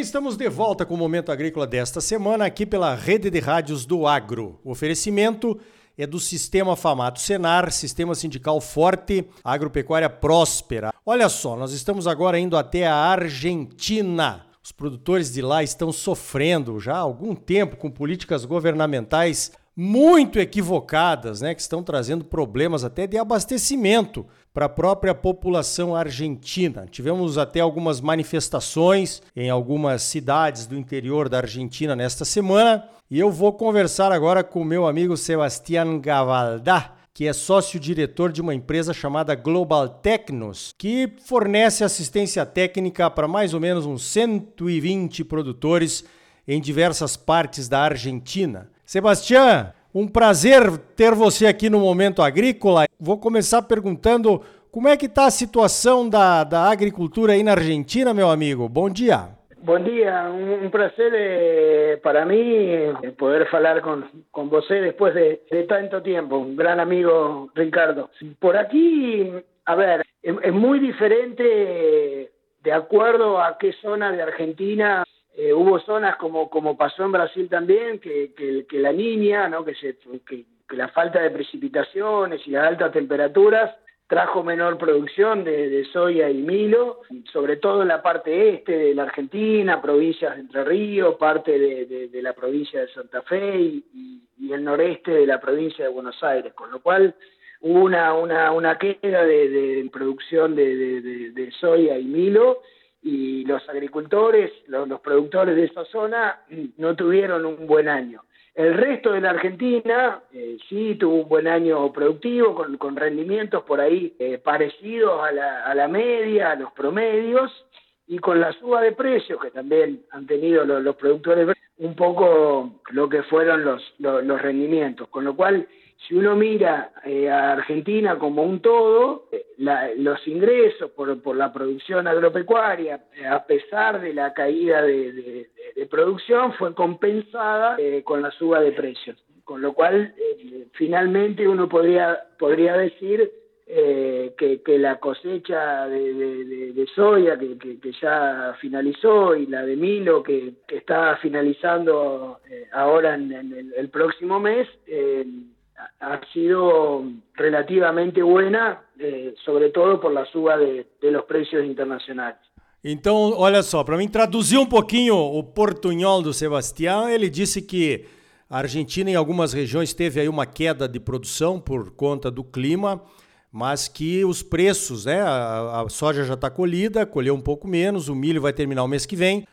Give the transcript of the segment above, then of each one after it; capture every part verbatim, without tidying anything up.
bem, estamos de volta com o Momento Agrícola desta semana aqui pela Rede de Rádios do Agro. O oferecimento é do Sistema Famato Senar, Sistema Sindical Forte, Agropecuária Próspera. Olha só, nós estamos agora indo até a Argentina. Os produtores de lá estão sofrendo já há algum tempo com políticas governamentais muito equivocadas, né, que estão trazendo problemas até de abastecimento para a própria população argentina. Tivemos até algumas manifestações em algumas cidades do interior da Argentina nesta semana e eu vou conversar agora com o meu amigo Sebastián Gavaldá, que é sócio-diretor de uma empresa chamada Global Tecnos, que fornece assistência técnica para mais ou menos uns cento e vinte produtores em diversas partes da Argentina. Sebastián, um prazer ter você aqui no Momento Agrícola. Vou começar perguntando como é que está a situação da, da agricultura aí na Argentina, meu amigo. Bom dia. Bom dia, um, um prazer eh, para mim eh, poder falar com, com você depois de, de tanto tempo. Um grande amigo, Ricardo. Por aqui, a ver, é, é muito diferente de acuerdo a qué zona de Argentina. Eh, hubo zonas como como pasó en Brasil también, que, que, que la niña, ¿no? que, se, que, que la falta de precipitaciones y las altas temperaturas trajo menor producción de, de soya y milo, sobre todo en la parte este de la Argentina, provincias de Entre Ríos, parte de, de, de la provincia de Santa Fe y, y, y el noreste de la provincia de Buenos Aires, con lo cual hubo una, una, una queda de, de producción de, de, de, de soya y milo, y los agricultores, los, los productores de esa zona no tuvieron un buen año. El resto de la Argentina eh, sí tuvo un buen año productivo, con, con rendimientos por ahí eh, parecidos a la, a la media, a los promedios, y con la suba de precios que también han tenido los, los productores, un poco lo que fueron los, los, los rendimientos. Con lo cual, si uno mira eh, a Argentina como un todo, eh, la, los ingresos por, por la producción agropecuaria, eh, a pesar de la caída de, de, de, de producción, fue compensada eh, con la suba de precios. Con lo cual, eh, finalmente uno podría, podría decir eh, que, que la cosecha de, de, de, de soya que, que, que ya finalizó y la de milo que, que está finalizando eh, ahora en, en el, el próximo mes, eh, ha sido relativamente buena, eh, sobre todo por la suba de, de los precios internacionais. Então, olha só, para mim traduzir um pouquinho o portunhol do Sebastián, ele disse que a Argentina em algumas regiões teve aí uma queda de produção por conta do clima, mas que os preços, né, a, a soja já está colhida, colheu um pouco menos, o milho vai terminar o mês que vem,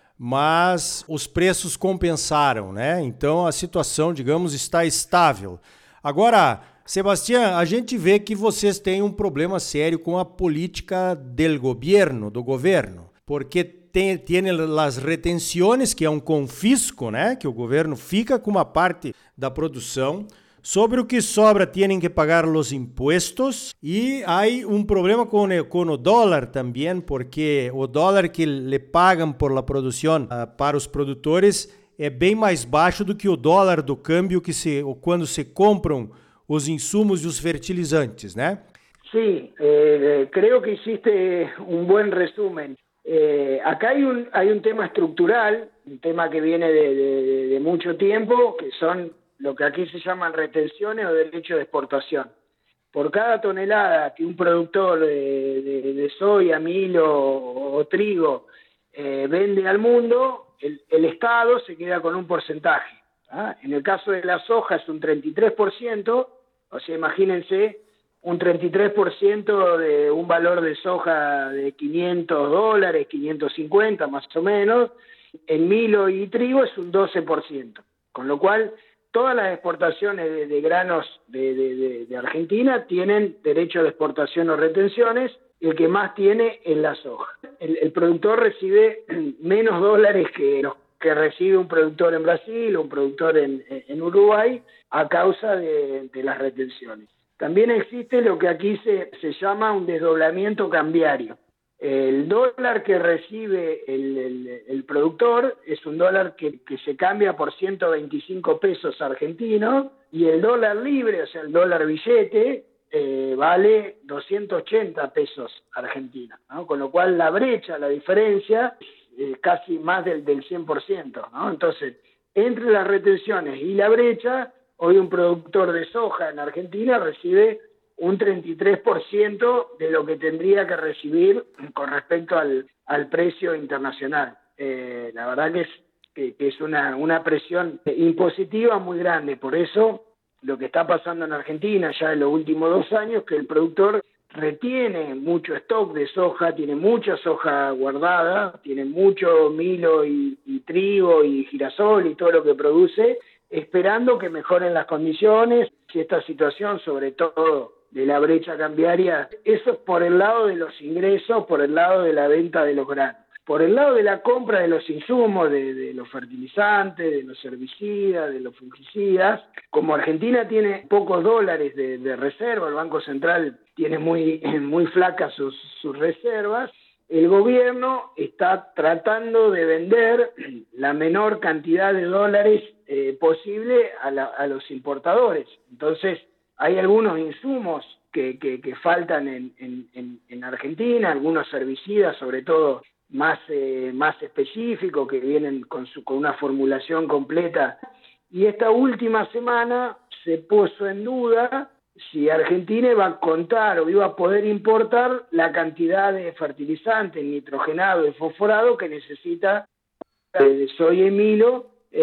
mas os preços compensaram, né? Então a situação, digamos, está estável. Agora, Sebastián, a gente vê que vocês têm um problema sério com a política del governo, do governo, porque tem, tem as retenções, que é um confisco, né? Que o governo fica com uma parte da produção, sobre o que sobra têm que pagar os impostos, e há um problema com, com o dólar também, porque o dólar que le pagam por la produção uh, para os produtores é bem mais baixo do que o dólar do câmbio que se, quando se compram os insumos e os fertilizantes, né? Sí, eh, creo que hiciste un buen resumen. Eh, acá hay un, hay un tema estructural, un tema que viene de, de, de mucho tiempo, que son lo que aquí se llaman retenciones o derechos de exportación. Por cada tonelada que un productor de, de, de soya, milo o, o trigo eh, vende al mundo, El, el Estado se queda con un porcentaje. ¿Ah? En el caso de la soja es un treinta y tres por ciento, o sea, imagínense, un treinta y tres por ciento de un valor de soja de quinientos dólares, quinientos cincuenta más o menos. En milo y trigo es un doce por ciento. Con lo cual, todas las exportaciones de, de granos de, de, de, de Argentina tienen derecho de exportación o retenciones. El que más tiene es la soja. El, el productor recibe menos dólares que los que recibe un productor en Brasil o un productor en, en Uruguay a causa de, de las retenciones. También existe lo que aquí se, se llama un desdoblamiento cambiario. El dólar que recibe el, el, el productor es un dólar que, que se cambia por ciento veinticinco pesos argentinos, y el dólar libre, o sea, el dólar billete, eh, vale doscientos ochenta pesos argentinos, ¿no? Con lo cual la brecha, la diferencia, eh, casi más del, del cien por ciento, ¿no? Entonces, entre las retenciones y la brecha, hoy un productor de soja en Argentina recibe un treinta y tres por ciento de lo que tendría que recibir con respecto al, al precio internacional. Eh, la verdad que es, que, que es una, una presión impositiva muy grande. Por eso, lo que está pasando en Argentina ya en los últimos dos años, que el productor retiene mucho stock de soja, tiene mucha soja guardada, tiene mucho milo y, y trigo y girasol y todo lo que produce, esperando que mejoren las condiciones, si esta situación, sobre todo de la brecha cambiaria, eso es por el lado de los ingresos, por el lado de la venta de los granos. Por el lado de la compra de los insumos, de, de los fertilizantes, de los herbicidas, de los fungicidas, como Argentina tiene pocos dólares de, de reserva, el Banco Central tiene muy, muy flacas sus, sus reservas, el gobierno está tratando de vender la menor cantidad de dólares eh, posible a, la, a los importadores. Entonces, hay algunos insumos que, que, que faltan en, en, en Argentina, algunos herbicidas, sobre todo más, eh, más específicos, que vienen con, su, con una formulación completa. Y esta última semana se puso en duda si Argentina iba a contar o iba a poder importar la cantidad de fertilizante nitrogenado y fosforado que necesita de soya y milo,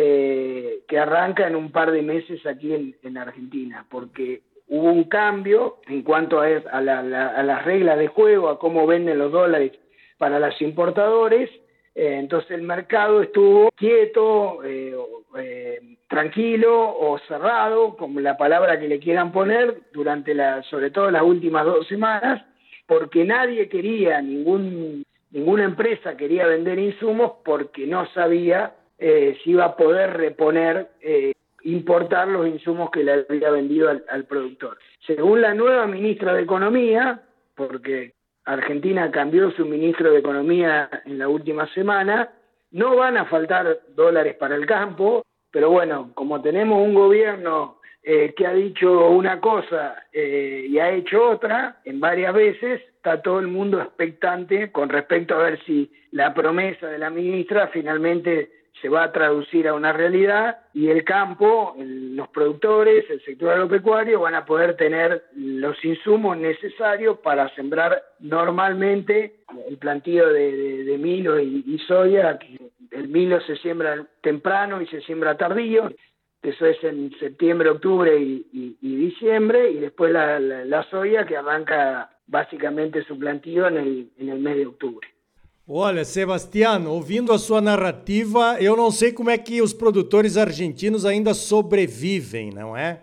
eh, que arranca en un par de meses aquí en, en Argentina, porque hubo un cambio en cuanto a, a, la, la, a las reglas de juego, a cómo venden los dólares para los importadores. Eh, entonces el mercado estuvo quieto, eh, eh, tranquilo o cerrado, como la palabra que le quieran poner, durante la, sobre todo las últimas dos semanas, porque nadie quería, ningún, ninguna empresa quería vender insumos porque no sabía eh, si iba a poder reponer, eh, importar los insumos que le había vendido al, al productor. Según la nueva ministra de Economía, porque Argentina cambió su ministro de Economía en la última semana, no van a faltar dólares para el campo, pero bueno, como tenemos un gobierno eh, que ha dicho una cosa eh, y ha hecho otra en varias veces, está todo el mundo expectante con respecto a ver si la promesa de la ministra finalmente se va a traducir a una realidad y el campo, el, los productores, el sector agropecuario van a poder tener los insumos necesarios para sembrar normalmente el plantío de, de, de milo y, y soya. El milo se siembra temprano y se siembra tardío, eso es en septiembre, octubre y, y, y diciembre, y después la, la, la soya que arranca básicamente su plantío en el, en el mes de octubre. Olha, Sebastião, ouvindo a sua narrativa, eu não sei como é que os produtores argentinos ainda sobrevivem, não é?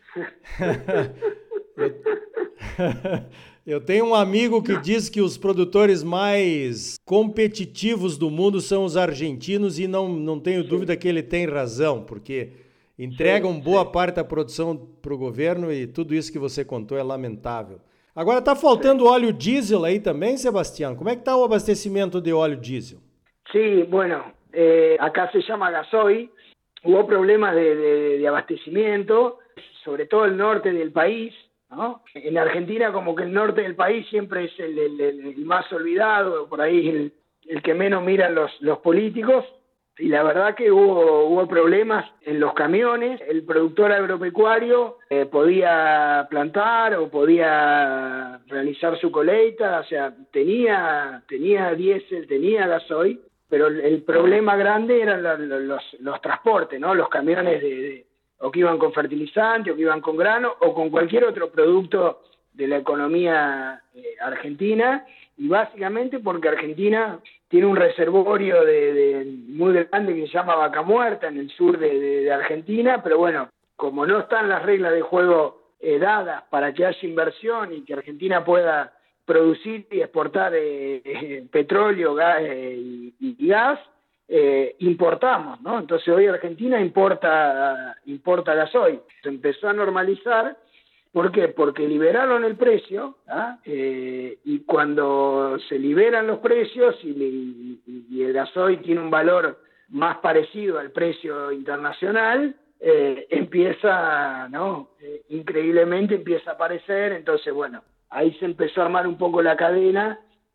eu, eu tenho um amigo que diz que os produtores mais competitivos do mundo são os argentinos e não, não tenho dúvida que ele tem razão, porque entregam boa parte da produção para o governo e tudo isso que você contou é lamentável. Agora está faltando óleo diesel aí também, Sebastião? Como é que está o abastecimento de óleo diesel? Sí, bueno, eh, acá se llama gasoil. Hubo problemas de, de, de abastecimiento, sobre todo el norte del país, ¿no? En Argentina como que el norte del país siempre es el, el, el más olvidado, por ahí el, el que menos miran los, los políticos. Y la verdad que hubo, hubo problemas en los camiones. El productor agropecuario eh, podía plantar o podía realizar su colecta, o sea, tenía, tenía diésel, tenía gasoil, pero el, el problema grande eran los, los, los transportes, ¿no? Los camiones de, de, o que iban con fertilizante, o que iban con grano, o con cualquier otro producto de la economía eh, argentina, y básicamente porque Argentina tiene un reservorio de, de muy grande que se llama Vaca Muerta en el sur de, de, de Argentina, pero bueno, como no están las reglas de juego eh, dadas para que haya inversión y que Argentina pueda producir y exportar eh, eh, petróleo gas, eh, y, y gas, eh, importamos, ¿no? Entonces hoy Argentina importa, importa gasoil. Se empezó a normalizar. ¿Por qué? Porque liberaron el precio, ¿ah? eh, y cuando se liberan los precios y, y, y el gasoil tiene un valor más parecido al precio internacional, eh, empieza, ¿no? Eh, increíblemente empieza a aparecer. Entonces, bueno, ahí se empezó a armar un poco la cadena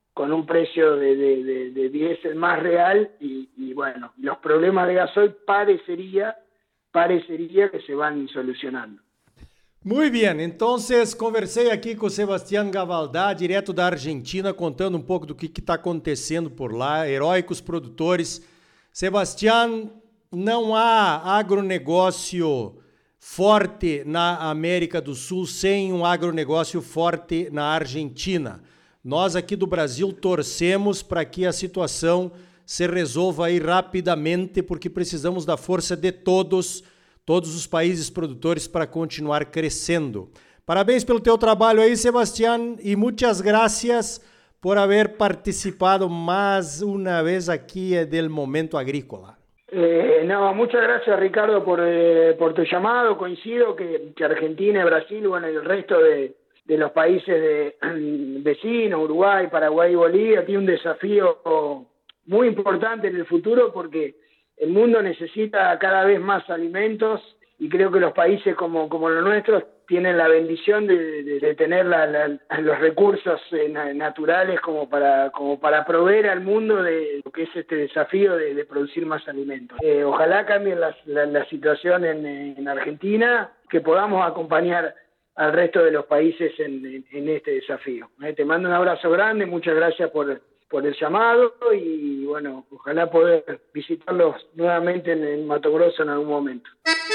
con un precio de, de, de, de diésel más real y, y bueno, los problemas de gasoil parecería, parecería que se van solucionando. Muito bem, então conversei aqui com o Sebastián Gavaldá, direto da Argentina, contando um pouco do que está acontecendo por lá, heróicos produtores. Sebastián, não há agronegócio forte na América do Sul sem um agronegócio forte na Argentina. Nós aqui do Brasil torcemos para que a situação se resolva aí rapidamente, porque precisamos da força de todos, todos os países produtores para continuar crescendo. Parabéns pelo teu trabalho aí, Sebastián, e muitas gracias por haber participado más una vez aquí del Momento Agrícola. Eh, no, muchas gracias, Ricardo, por, eh, por tu llamado. Coincido que, que Argentina, Brasil, bueno, y el resto de, de los países de, vecinos, Uruguay, Paraguay y Bolivia, tiene un desafío muy importante en el futuro porque el mundo necesita cada vez más alimentos y creo que los países como, como los nuestros tienen la bendición de, de, de tener la, la, los recursos eh, naturales como para, como para proveer al mundo de lo que es este desafío de, de producir más alimentos. Eh, ojalá cambie la, la, la situación en, en Argentina, que podamos acompañar al resto de los países en, en, en este desafío. Eh, te mando un abrazo grande, muchas gracias por, por el llamado y bueno, ojalá poder visitarlos nuevamente en, en Mato Grosso en algún momento.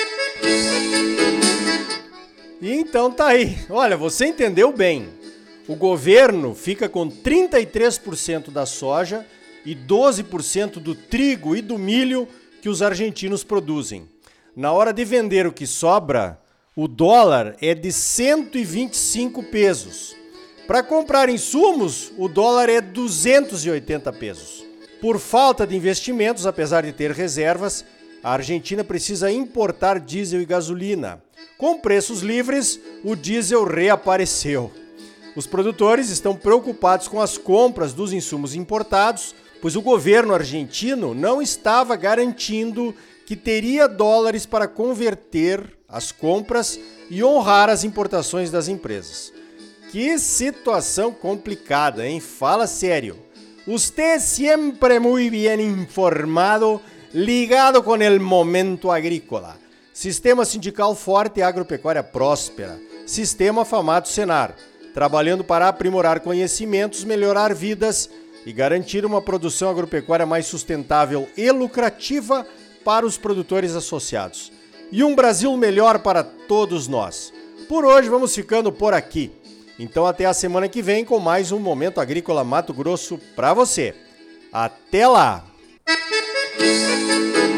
E então tá aí. Olha, você entendeu bem. O governo fica com trinta e três por cento da soja e doze por cento do trigo e do milho que os argentinos produzem. Na hora de vender o que sobra, o dólar é de cento e vinte e cinco pesos. Para comprar insumos, o dólar é duzentos e oitenta pesos. Por falta de investimentos, apesar de ter reservas, a Argentina precisa importar diesel e gasolina. Com preços livres, o diesel reapareceu. Os produtores estão preocupados com as compras dos insumos importados, pois o governo argentino não estava garantindo que teria dólares para converter as compras e honrar as importações das empresas. Que situação complicada, hein? Fala sério. Usted siempre muy bien informado, ligado com el Momento Agrícola. Sistema Sindical Forte e Agropecuária Próspera. Sistema Famato Senar. Trabalhando para aprimorar conhecimentos, melhorar vidas e garantir uma produção agropecuária mais sustentável e lucrativa para os produtores associados. E um Brasil melhor para todos nós. Por hoje vamos ficando por aqui. Então até a semana que vem com mais um Momento Agrícola Mato Grosso para você. Até lá!